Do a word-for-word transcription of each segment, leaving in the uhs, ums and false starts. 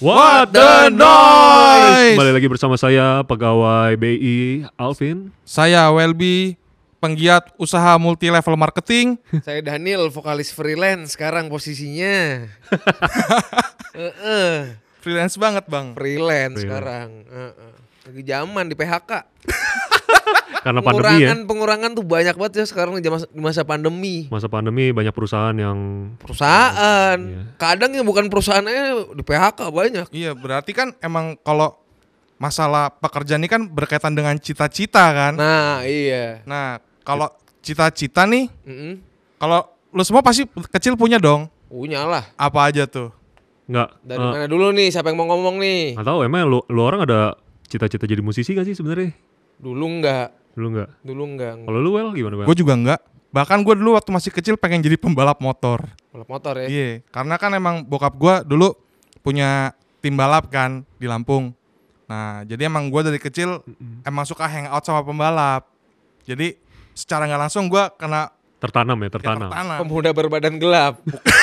What the noise? Kembali lagi bersama saya, pegawai B I Alvin. Saya Welby, penggiat usaha multi level marketing. Saya Daniel, vokalis freelance sekarang posisinya. uh-uh. Freelance banget bang. Freelance, Freelance. sekarang. Uh-uh. Lagi zaman di P H K. Karena pandemi ya. Pengurangan tuh banyak banget ya sekarang di masa, di masa pandemi. Masa pandemi banyak perusahaan yang Perusahaan. Iya. Kadang yang bukan perusahaannya di P H K banyak. Iya, berarti kan emang kalau masalah pekerjaan ini kan berkaitan dengan cita-cita kan. Nah iya. Nah, kalau cita-cita nih, Mm-mm. kalau lu semua pasti kecil punya dong. Punya lah. Apa aja tuh? Enggak. Dari uh, mana dulu nih? Siapa yang mau ngomong nih? Nggak tahu emang lu, lu orang ada cita-cita jadi musisi gak sih sebenarnya? Dulu enggak. Dulu enggak. Dulu enggak. Kalau lu Well gimana, Well? Gue juga enggak. Bahkan gue dulu waktu masih kecil pengen jadi pembalap motor. Balap motor ya. Iya, karena kan emang bokap gue dulu punya tim balap kan di Lampung. Nah, jadi emang gue dari kecil emang suka hangout sama pembalap. Jadi secara nggak langsung gue kena Tertanam ya, ya, tertanam. tertanam. Pemuda berbadan gelap.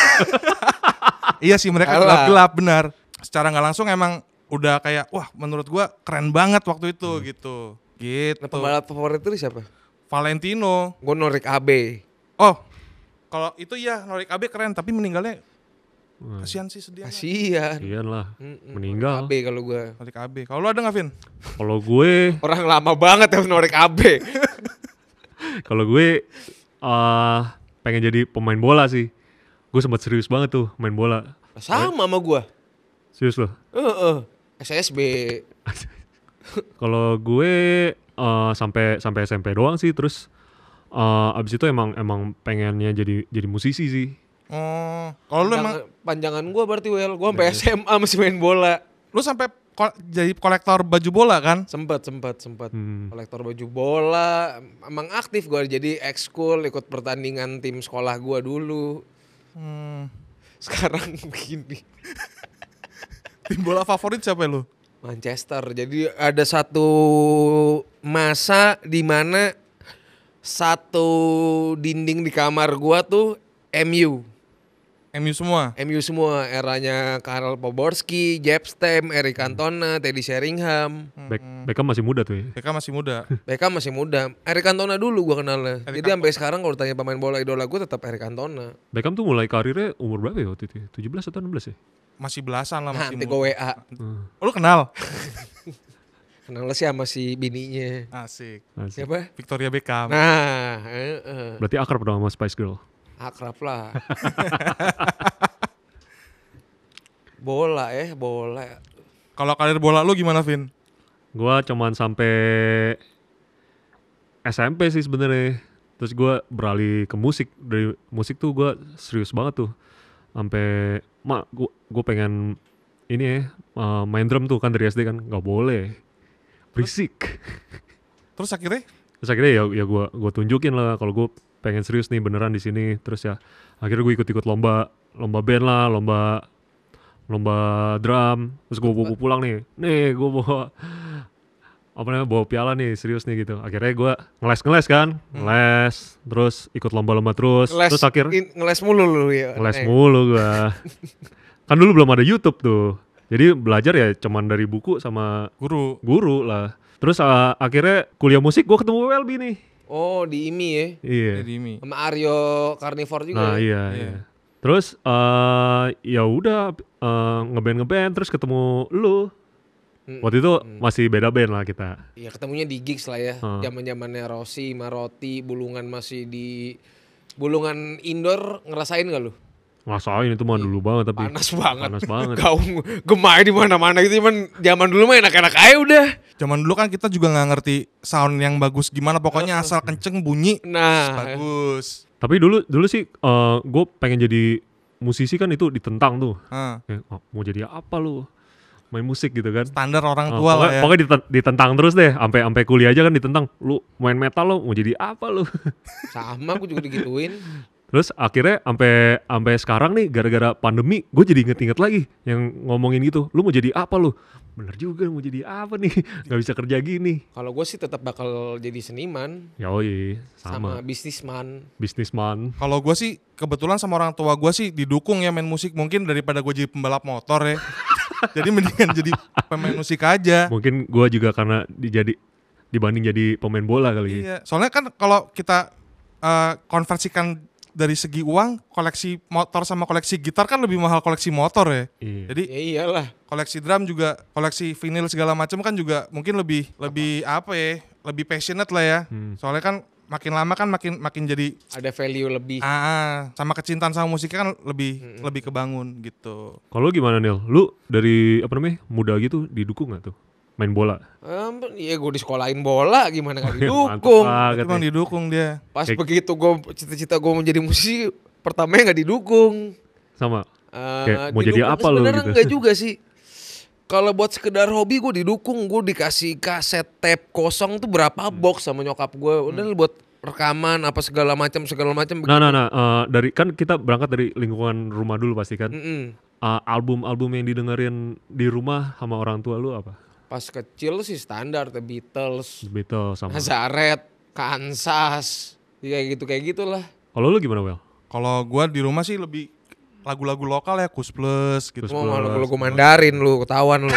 Iya sih mereka Alah. gelap-gelap benar. Secara nggak langsung emang udah kayak wah menurut gue keren banget waktu itu Hmm. gitu. Gitu. Nah, pembalap favorit itu siapa? Valentino. Gue Norik A B. Oh, kalau itu ya Norik A B keren tapi meninggalnya Wah, kasihan sih sedih. amat. Kasian. kasihan lah. Mm-mm. Meninggal. A B kalau gue. Norik A B. Kalau lu ada nggak Vin? Kalau gue, Orang lama banget ya Norik A B. kalau gue uh, pengen jadi pemain bola sih. Gue sempat serius banget tuh main bola. Sama sama gue. Serius loh. Heeh. S S B. Kalau gue uh, sampai sampai S M P doang sih, terus uh, abis itu emang emang pengennya jadi jadi musisi sih. Oh, kalau lu emang Panjangan, panjangan gue berarti Well. Gue sampai S M A masih main bola. lu sampai ko- jadi kolektor baju bola kan? Sempet, sempet, sempet. Hmm. Kolektor baju bola. Emang aktif gue jadi ekskul, ikut pertandingan tim sekolah gue dulu. Hmm. Sekarang begini. Tim bola favorit siapa lu? Manchester. Jadi ada satu masa di mana satu dinding di kamar gua tuh M U. M U semua. M U semua, eranya Karel Poborski, Jeb Stem, Eric Cantona, Teddy Sheringham. Beck- Beckham masih muda tuh ya. Mereka masih muda. Beckham masih muda. Eric Cantona dulu gua kenalnya. Eric Jadi sampai sekarang kalau ditanya pemain bola idola gua tetap Eric Cantona. Beckham tuh mulai karirnya umur berapa ya waktu itu? ya? tujuh belas atau enam belas ya? Masih belasan lah Nah, masih nanti muda. gua W A. Hmm. Oh, lu kenal? Kenalnya sih sama si bininya. Asik. Asik. Siapa? Victoria Beckham. Nah, eh, eh. Berarti akrab dong sama Spice Girl. Akrab lah. Bola ya, bola. Kalau karir bola lu gimana, Vin? Gua cuman sampai S M P sih sebenarnya. Terus gua beralih ke musik. Dari musik tuh gua serius banget tuh. Sampai mak gua gua pengen ini ya uh, main drum tuh kan dari S D kan nggak boleh. Berisik. Terus akhirnya Terus akhirnya ya ya gua gua tunjukin lah kalau gua pengen serius nih beneran di sini. Terus ya akhirnya gue ikut-ikut lomba lomba band lah, lomba lomba drum. Terus gue bawa pulang nih. Nih gue bawa apa namanya bawa piala nih serius nih gitu. Akhirnya gue ngeles-ngeles kan, ngeles, terus ikut lomba-lomba terus. Ngeles, Terus akhir in- ngeles mulu lu ya. ngeles Eh, mulu gue. Kan dulu belum ada YouTube tuh. Jadi belajar ya cuman dari buku sama guru. guru lah. Terus uh, akhirnya kuliah musik gue ketemu Welby nih. Oh, di I M I ya. Iya. Jadi ini. Sama Aryo Carnivore juga. Nah ya? iya, Iya. iya. Terus uh, ya udah uh, ngeband ngeband terus ketemu lu. Mm, Waktu itu mm. masih beda band lah kita. Ya ketemunya di gigs lah ya. Hmm. Zaman-zamannya Rossi, Marotti, Bulungan masih di Bulungan indoor ngerasain gak lu? Ngerasain itu mah dulu banget tapi Panas banget. panas banget. Gaung gemai di mana-mana gitu, cuman zaman dulu mah enak-enak aja udah. Zaman dulu kan kita juga nggak ngerti sound yang bagus gimana, pokoknya asal kenceng bunyi Nah, bagus. Tapi dulu dulu sih uh, gue pengen jadi musisi kan itu ditentang tuh. Nah, Kayak, oh, mau jadi apa lu? Main musik gitu kan. standar orang Uh, tua pokoknya, lah ya. pokoknya diten- ditentang terus deh, sampai sampai kuliah aja kan ditentang. Lu main metal lu mau jadi apa lu? sama aku juga digituin. Terus akhirnya sampai sampai sekarang nih gara-gara pandemi gue jadi inget-inget lagi yang ngomongin gitu. Lu mau jadi apa lu? Bener juga mau jadi apa nih? Gak bisa kerja gini. Kalau gue sih tetap bakal jadi seniman Yoi, sama, sama, bisnisman. bisnisman. Kalau gue sih kebetulan sama orang tua gue sih didukung ya main musik, mungkin daripada gue jadi pembalap motor ya. Jadi mendingan jadi pemain musik aja. Mungkin gua juga karena dijadi dibanding jadi pemain bola kali. Iya, soalnya kan kalau kita uh, konversikan dari segi uang, koleksi motor sama koleksi gitar kan lebih mahal koleksi motor ya. Iya. Jadi Ya iyalah. koleksi drum juga, koleksi vinyl segala macam kan juga mungkin lebih lebih apa ya, lebih passionate lah ya. Hmm. Soalnya kan makin lama kan makin makin jadi Ada value lebih. ah sama kecintaan sama musiknya kan lebih lebih kebangun gitu. Kalau lu gimana Nil? Lu dari apa namanya muda gitu didukung gak tuh main bola? Um, iya gue disekolahin bola gimana gak Mantap didukung. banget Emang nih. didukung dia. Pas Kayak- begitu gue cita-cita gue menjadi musisi pertamanya nggak didukung. Sama. Eh, Kayak mau jadi didukung apa lu sebenarnya gitu? enggak juga sih. Kalau buat sekedar hobi gue didukung, gue dikasih kaset tape kosong tuh berapa box sama nyokap gue. Udah lu buat rekaman apa segala macam segala macam. Nah, nah, nah, eh, dari kan kita berangkat dari lingkungan rumah dulu pasti kan. Mm-mm. Eh, album-album yang didengerin di rumah sama orang tua lu apa? Pas kecil sih standar The Beatles, The Beatles sama. Nazareth, Kansas, kayak gitu kayak gitulah. Kalau lu gimana Wel? Kalau gua di rumah sih lebih lagu-lagu lokal ya, Kus Plus gitu. Kus Mau Plus. malu lu Mandarin lu, ketahuan lu.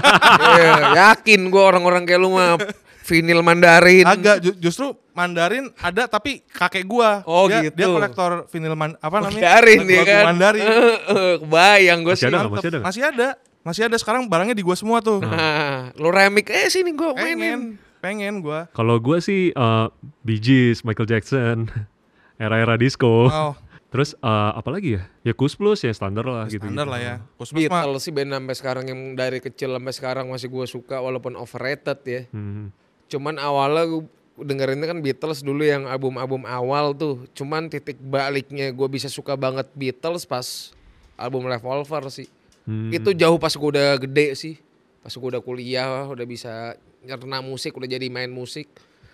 Iya, yakin gua orang-orang kayak lu mah vinil Mandarin. Agak ju- justru Mandarin ada tapi kakek gua. Oh, dia, gitu. Dia kolektor vinil man, apa namanya? Mandarin dia Lagu-lagu kan. Mandarin. Kebayang gue Masih sih. ada nggak? Mantep. Masih ada nggak? Masih ada. Masih ada sekarang barangnya di gua semua tuh. Nah, lu remix eh sini gue mainin. Pengen, pengen gua. Kalau gua sih eh, Bee Gees, Michael Jackson, era-era disco. Oh, Terus eh, apa lagi ya? Ya Kus Plus ya standar lah gitu. standar lah ya. Kus Plus mah Beatles sih band sampai sekarang yang dari kecil sampai sekarang masih gue suka walaupun overrated ya. Hmm. Cuman awalnya gue dengerinnya kan Beatles dulu yang album-album awal tuh. Cuman titik baliknya gue bisa suka banget Beatles pas album Revolver sih. Hmm. Itu jauh pas gue udah gede sih. Pas gue udah kuliah, udah bisa nyerna musik, udah jadi main musik.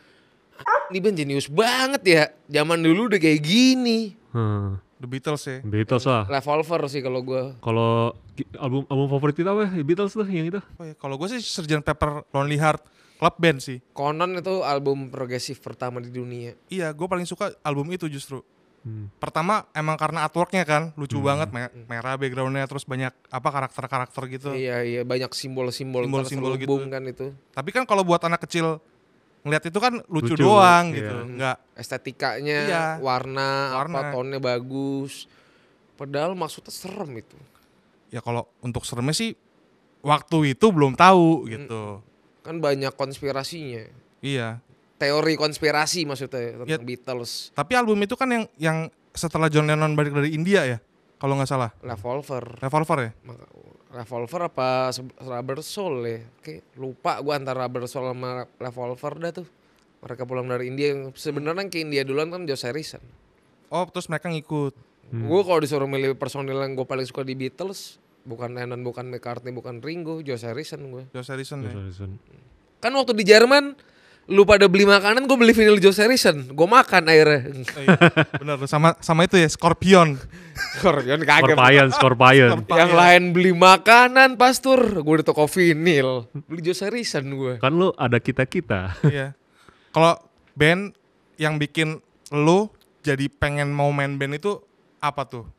Ini band jenius banget ya. Zaman dulu udah kayak gini. Hmm. The Beatles ya. Beatles lah. Revolver sih kalau gue. Kalau ki- album album favorit kita apa? ya? Beatles tuh yang itu. Oh ya, kalau gua sih sergeant Pepper Lonely Heart Club Band sih. Conan itu album progresif pertama di dunia. Iya, gua paling suka album itu justru. Hmm. Pertama emang karena artworknya kan lucu banget, me- merah backgroundnya, terus banyak apa karakter-karakter gitu. Iya iya banyak simbol-simbol Simbol-simbol terselubung gitu. kan itu. Tapi kan kalau buat anak kecil ngeliat itu kan lucu, Lucu, doang iya. gitu, nggak Estetikanya, Iya. warna, Warna. apa tonnya bagus. Padahal maksudnya serem itu. ya kalau untuk seremnya sih waktu itu belum tahu gitu. Kan banyak konspirasinya. Iya. Teori konspirasi maksudnya tentang Ya. Beatles. Tapi album itu kan yang yang setelah John Lennon balik dari India ya, kalau nggak salah. Revolver. Revolver ya. Maka- Revolver apa se- Rubber Soul ya? Oke, lupa gua antara Rubber Soul sama Revolver dah tuh. Mereka pulang dari India. Sebenarnya yang ke India duluan kan George Harrison. Oh, terus mereka ngikut. Gue kalau disuruh milih personil yang gue paling suka di Beatles, bukan Lennon, bukan McCartney, bukan Ringo, George Harrison gue. George Harrison ya. Harrison. Kan waktu di Jerman, lu pada beli makanan, gue beli vinyl George Harrison, gue makan akhirnya. Oh, iya. Bener, sama sama itu ya Scorpion. Scorpion kaget. Scorpion, Scorpion. Yang lain beli makanan, pastur, gue di toko vinyl, beli George Harrison gue. Kan lu ada kita-kita. Iya. Kalau band yang bikin lu jadi pengen mau main band itu apa tuh?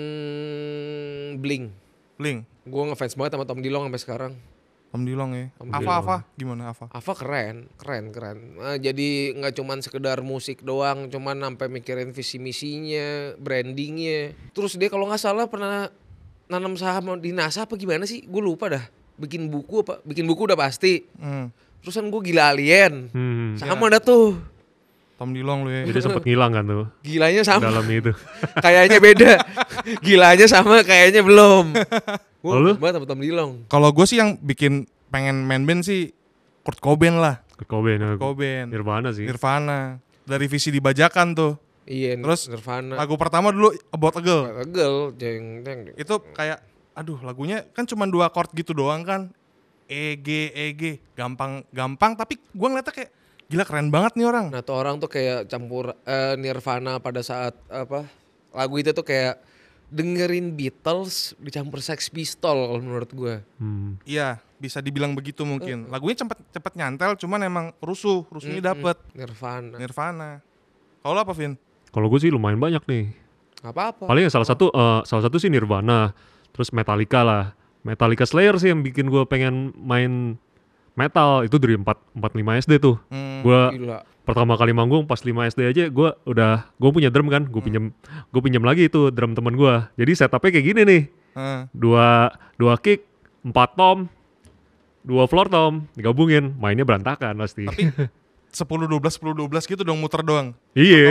Hmm, Blink. Blink, Gue ngefans banget sama Tom Dilong sampai sekarang. Tom Dilong ya. Tom Apa Dilong. apa? Gimana apa? Ava keren, keren, keren. Nah, jadi nggak cuman sekedar musik doang, cuman sampai mikirin visi misinya, brandingnya. Terus dia kalau nggak salah pernah nanam saham di NASA apa gimana sih? Gue lupa dah. Bikin buku apa? Bikin buku udah pasti. Hmm. Terusan gue gila alien. Hmm. Sama dah tuh. Tom Dilong lu ya. Jadi sempet ngilang kan tuh Gilanya sama. dalam itu. Kayaknya beda. Gilanya sama, kayaknya belum. Gue Lalu? ngefans banget sama Tom Dilong. Kalau gue sih yang bikin pengen main band sih Kurt Cobain lah. Kurt Cobain. ya. Cobain. Nirvana sih. Nirvana. Dari visi dibajakan tuh. Iya, Terus Nirvana. Lagu pertama dulu About a Girl. Tegel, jeng, jeng. Itu kayak aduh lagunya kan cuma dua chord gitu doang kan. E G E G gampang gampang tapi gue ngeliatnya kayak gila keren banget nih orang. Nah tuh orang tuh kayak campur eh, Nirvana pada saat apa lagu itu tuh kayak dengerin Beatles dicampur Sex Pistol kalau menurut gue. Hmm. Iya, bisa dibilang begitu mungkin. Lagunya cepet cepet nyantel, cuman emang rusuh, rusuhnya dapet. Nirvana. Nirvana. Kalau lo apa, Vin? Kalau gue sih lumayan banyak nih. Gak apa-apa. Paling yang salah satu eh, salah satu sih Nirvana, terus Metallica lah. Metallica Slayer sih yang bikin gue pengen main metal. Itu dari empat lima S D tuh. Hmm. Gue Gila. pertama kali manggung pas lima S D aja gue udah, gue punya drum kan, gue pinjam gue pinjam lagi itu drum temen gue. Jadi setupnya kayak gini nih, Eh. dua dua kick, empat tom, dua floor tom, digabungin, mainnya berantakan pasti. Tapi sepuluh dua belas sepuluh dua belas gitu dong, muter doang. Iya.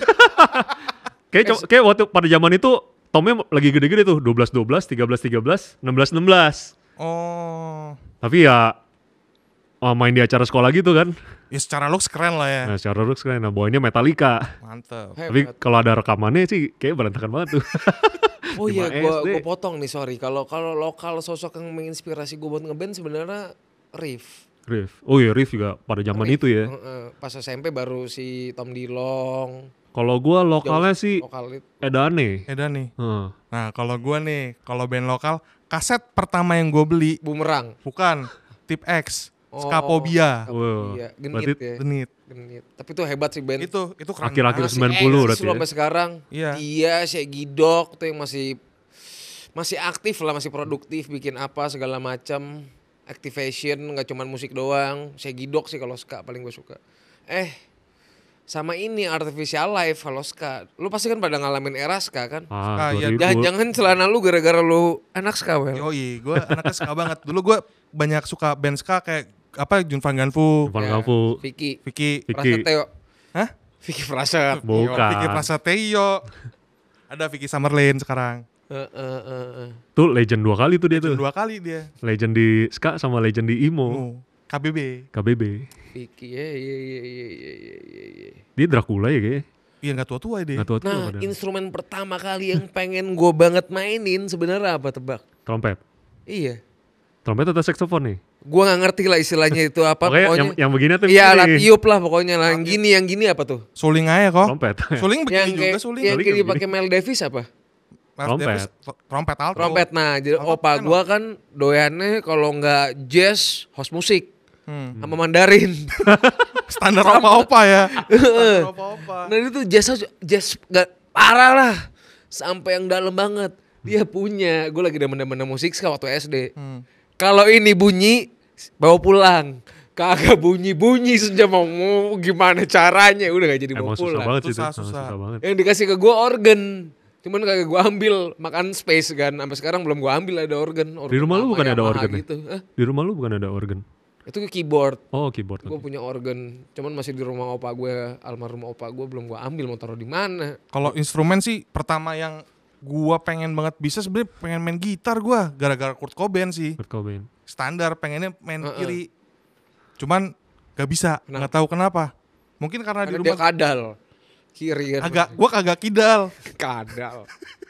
Kayak co- kayak waktu pada zaman itu tomnya lagi gede-gede tuh, dua belas dua belas, tiga belas tiga belas, enam belas enam belas. Oh. Tapi ya oh, main di acara sekolah gitu kan. Ya secara looks keren lah ya. Nah, secara looks kan, nah bawainnya Metallica. Mantep. Tapi Hebat. kalau ada rekamannya sih kayak berantakan banget tuh. Oh iya, lima gua S D. gua potong nih, sorry. Kalau kalau lokal sosok yang menginspirasi gua buat ngeband sebenarnya Riff. Riff. Oh iya, Riff juga pada zaman Riff. itu ya. Heeh, pas S M P baru si Tom Dilong. Kalau gua lokalnya sih Lokal itu. Edane. Eda nih. Heeh. Nah kalau gue nih, kalau band lokal, kaset pertama yang gue beli Bumerang. bukan Tip X, Oh, Skapobia, Wow. Iya, genit Berarti ya. Genit. Genit. Tapi itu hebat sih band. Itu itu keren. Akhir-akhir banget. sembilan puluh eksis berarti loh ya. sampai sekarang. Iya. Dia, si Gidok tuh yang masih masih aktif lah, masih produktif, bikin apa segala macam. Activation nggak cuman musik doang. Si Gidok sih kalau ska paling gue suka. Eh, sama ini Artificial Life kalau ska. Lu pasti kan pada ngalamin era ska kan? Ah, Ah, iya. dua ribu. Jangan-jangan celana lu gara-gara lu anak ska, Wel. Yoi, gue anaknya ska banget. Dulu gue banyak suka band ska kayak apa Jun Van Ganfu, Van Ya, Gafu. Vicky. Vicky, Vicky. Prasetyo. Hah? Vicky Praset. Bukan. Vicky Prasetyo. Ada Vicky Summerlin sekarang. Eh, eh, eh, eh. Tuh legend dua kali tuh dia tuh. Dua kali dia. Legend di ska sama legend di emo. Oh, K B B. K B B. Vicky, ya, ya, ya, ya, ya, ya, ya. Dia Dracula ya kayaknya. Iya nggak tua-tua dia. Nggak tua-tua Nah, padahal. instrumen pertama kali yang pengen gue banget mainin sebenarnya apa, tebak? Trompet. Iya. Trompet atau saxophone nih? Gue nggak ngerti lah istilahnya itu apa. Pokoknya yang, pokoknya yang begini tuh iya, begini. alat tiup lah pokoknya lah. Yang gini, yang gini apa tuh? Suling aja kok. Trompet. Suling Yang begini juga kayak suling. yang Suling kayak kayak dipakai Mel Davis apa? Miles Trompet. Davis, tro- trompet alto. Trompet. Nah, jadi Trompet opa kan gue kan doyannya kalau nggak jazz, house musik Hmm. sama Mandarin. Standar opa-opa ya. Standar opa-opa. Nah itu jazz jazz nggak parah lah, sampai yang dalam banget. Dia punya, gue lagi demen-demen musik ska waktu S D. Hmm. Kalau ini bunyi, bawa pulang. Kagak bunyi-bunyi sejam mau mau gimana caranya, udah gak jadi bawa Emang susah pulang. banget sih itu. Susah, Emang susah. susah banget. Yang dikasih ke gue organ, cuman kagak gue ambil, makan space kan. Sampai sekarang belum gue ambil ada organ. organ Di rumah lu lama, bukan ada Yamaha organ ya? gitu. Hah? Di rumah lu bukan ada organ? Itu keyboard. Oh, keyboard. Gue oke. punya organ, cuman masih di rumah opa gue, almarhum opa gue, belum gue ambil, mau taruh di mana. Kalau instrumen sih pertama yang gua pengen banget bisa sebenarnya pengen main gitar gua gara-gara Kurt Cobain sih. Kurt Cobain. Standar pengennya main Heeh. kiri. Cuman gak bisa, Kenapa? nggak tahu kenapa. Mungkin karena, Karena di dia rumah kadal. Kiri kan. agak gua kagak kidal. kadal.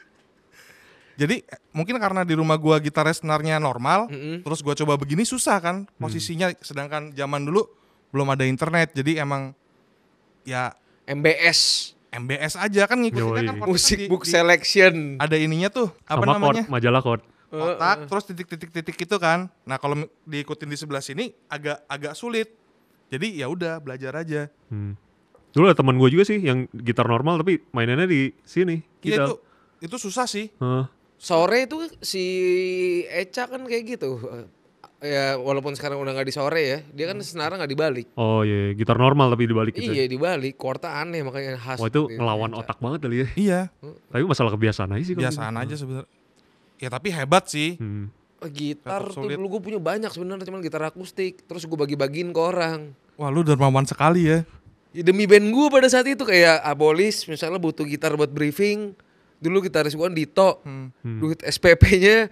Jadi eh, mungkin karena di rumah gua gitarnya senarnya normal, Mm-mm. terus gua coba begini susah kan posisinya, sedangkan zaman dulu belum ada internet. Jadi emang ya M B S. M B S aja kan ngikutinnya Yoi. kan chord-nya Musik di- book di- selection. ada ininya tuh apa Sama namanya? chord, majalah chord. Kotak terus titik-titik-titik itu kan. Nah, kalau mi- diikutin di sebelah sini agak agak sulit. Jadi ya udah belajar aja. Hmm. Dulu ada teman gue juga sih yang gitar normal tapi mainannya di sini. Iya Gitu. itu itu susah sih. Heeh. Sore itu si Eca kan kayak gitu. Ya walaupun sekarang udah nggak di sore ya, dia kan senarnya nggak dibalik. Oh iya, gitar normal tapi dibalik gitu. Iya ya. dibalik, chordnya aneh makanya khas. Wah itu gitu, ngelawan Eca. otak banget kali ya. Iya, Tapi masalah kebiasaan aja sih. kalau biasaan gitu. aja sebenarnya. Ya tapi hebat sih. Hmm. Gitar Tetap tuh sulit. dulu gue punya banyak sebenarnya, cuman gitar akustik. Terus gue bagi-bagiin ke orang. Wah, lu dermawan sekali ya. Ya, demi band gue pada saat itu kayak Abolis misalnya butuh gitar buat briefing. Dulu gitaris gue kan Dito. Hmm. Duit S P P-nya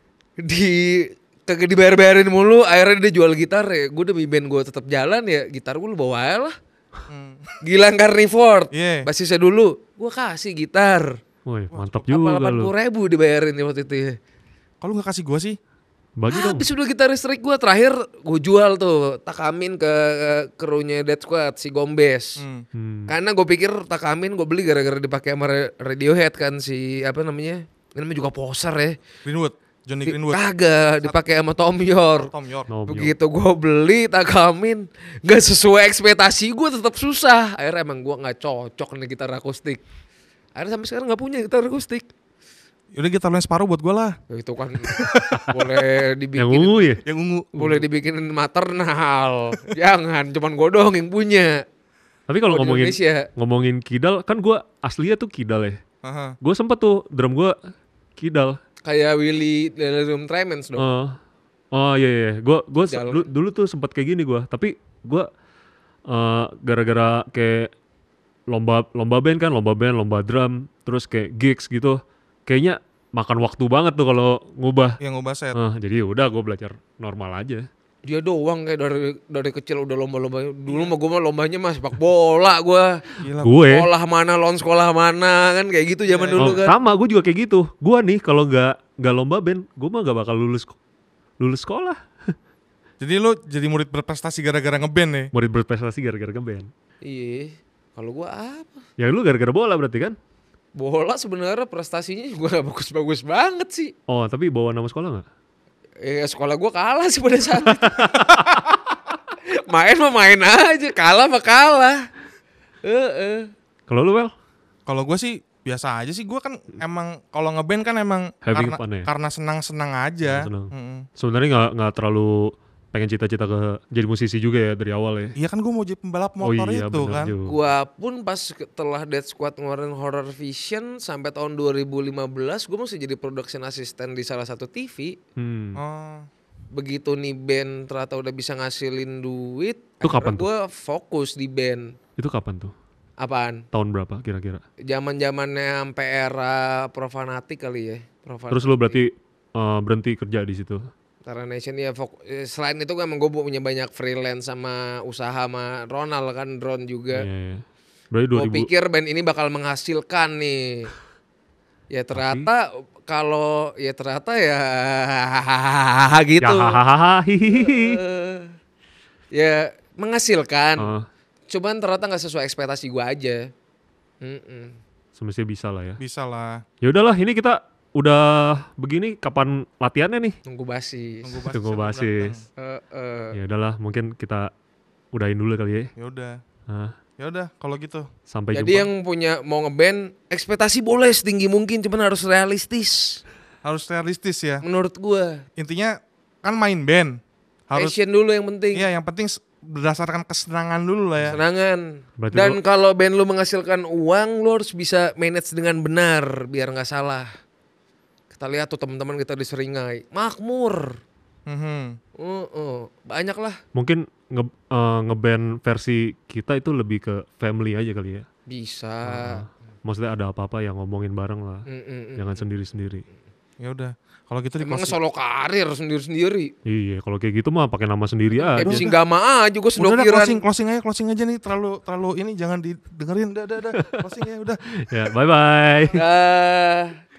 di kagak dibayar-bayarin mulu, akhirnya dia jual gitar ya. Gue demi band gue tetap jalan ya, gitar gue lu bawa aja lah. Hmm. Gilang Carnivore, Iya. basisnya dulu, gue kasih gitar. Woi mantap Apa juga delapan lu. puluh ribu dibayarin ya waktu itu ya. Kalau nggak kasih gua sih, Bagi dong. Habis udah gitar listrik gue terakhir gue jual tuh Takamin ke krunya Dead Squad si Gombes. hmm. Hmm. Karena gue pikir Takamin gue beli gara-gara dipakai sama Ra- Radiohead kan si apa namanya? Ini namanya juga poser ya. Greenwood, Johnny Di- Greenwood, Kagak dipakai sama Tom York. Tom York. No, yo. Begitu gue beli Takamin gak sesuai ekspektasi gue, tetap susah. Akhirnya emang gue nggak cocok nih gitar akustik. Akhirnya sampai sekarang nggak punya gitar akustik. Yaudah gitar lo yang separuh buat gue lah. Ya, itu kan boleh dibikin. Yang ungu ya? Yang ungu. Boleh dibikinin maternal. Jangan, cuman gue doang yang punya. Tapi kalau Kalau di ngomongin Indonesia. ngomongin kidal, kan gue aslinya tuh kidal ya. Aha. Gue sempet tuh drum gue kidal. Kayak Willy Delirium Tremens dong. Oh, oh iya iya. Gue gue se- Jalan. dulu, dulu tuh sempat kayak gini gue. Tapi gue eh, gara-gara kayak lomba lomba band kan, lomba band, lomba drum, terus kayak gigs gitu. Kayaknya makan waktu banget tuh kalau ngubah. Yang ngubah set. Eh, jadi udah gue belajar normal aja. Dia doang kayak dari dari kecil udah lomba-lomba. Dulu mah gue mah lombanya mah sepak bola gue. Gila. Gue Sekolah mana lawan sekolah mana kan kayak gitu zaman dulu oh, kan. sama gue juga kayak gitu. Gue nih kalau nggak nggak lomba band, gue mah nggak bakal lulus lulus sekolah. Jadi lo jadi murid berprestasi gara-gara ngeband nih. Murid berprestasi gara-gara ngeband. Iya. Kalau gue apa? Ya lu gara-gara bola berarti kan? Bola sebenarnya prestasinya juga gak bagus-bagus banget sih. Oh tapi bawa nama sekolah nggak? Eh sekolah gue kalah sih pada saat itu. Main mah main aja, kalah mah kalah. Heeh. Kalau lu Wel? Kalau gue sih biasa aja sih. Gue kan emang kalau ngeband kan emang Having karena fun ya? karena senang-senang aja. Senang. Mm-mm. Sebenarnya nggak nggak terlalu pengen cita-cita ke jadi musisi juga ya dari awal ya. Iya kan gue mau jadi pembalap Oh motor iya itu benar kan. juga. Gua pun pas setelah Death Squad ngeluarin Horror Vision sampai tahun dua ribu lima belas gue masih jadi production assistant di salah satu T V. Hmm. Oh. Begitu nih band ternyata udah bisa ngasilin duit, Itu kapan tuh? gue fokus di band. Itu kapan tuh? Apaan? Tahun berapa kira-kira? Zaman-zamannya sampai era Profanatic kali ya. Profanatic. Terus lu berarti eh, berhenti kerja di situ? Tara Nation ya fok- eh, selain itu gue emang gue punya banyak freelance sama usaha sama Ronald kan, drone juga. Iya, iya. Berarti dua Gue ribu. pikir band ini bakal menghasilkan nih. Ya ternyata kalau ya ternyata ya gitu. Ya hahaha. hihihi. Eh, ya menghasilkan. Eh, Cuman ternyata nggak sesuai ekspektasi gue aja. Mm-mm. semestinya bisa lah ya. Bisa lah. Ya udahlah, ini kita udah begini kapan latihannya nih? Nunggu basis. Nunggu basis. Tunggu sampai basis. Eh, eh. Ya udahlah, mungkin kita udahin dulu kali ya. datang. Ya udah. Nah, Ya udah kalau gitu. sampai Jadi jumpa. yang punya mau ngeband ekspektasi boleh setinggi mungkin, cuman harus realistis. Harus realistis ya. Menurut gue. Intinya kan main band. Harus Passion dulu yang penting. iya yang penting s- berdasarkan kesenangan dulu lah ya. Senangan. Berarti Dan lu- kalau band lu menghasilkan uang, lu harus bisa manage dengan benar biar nggak salah. Kita lihat tuh teman-teman kita di Seringai, makmur. Mhm. Uh, uh, banyak lah. Mungkin nge eh, ngeband versi kita itu lebih ke family aja kali ya. Bisa. Nah, maksudnya ada apa-apa yang ngomongin bareng lah. Mm, mm, mm. Jangan sendiri-sendiri. Ya udah. Kalau gitu di Emang closing. solo karir sendiri-sendiri. Iya, kalau kayak gitu mah pakai nama sendiri Kayak aja. Singgama aja gue Udah udah sedokiran. closing closing aja closing aja nih terlalu terlalu ini jangan didengerin udah udah udah closing ya udah. Ya, bye bye. Dah.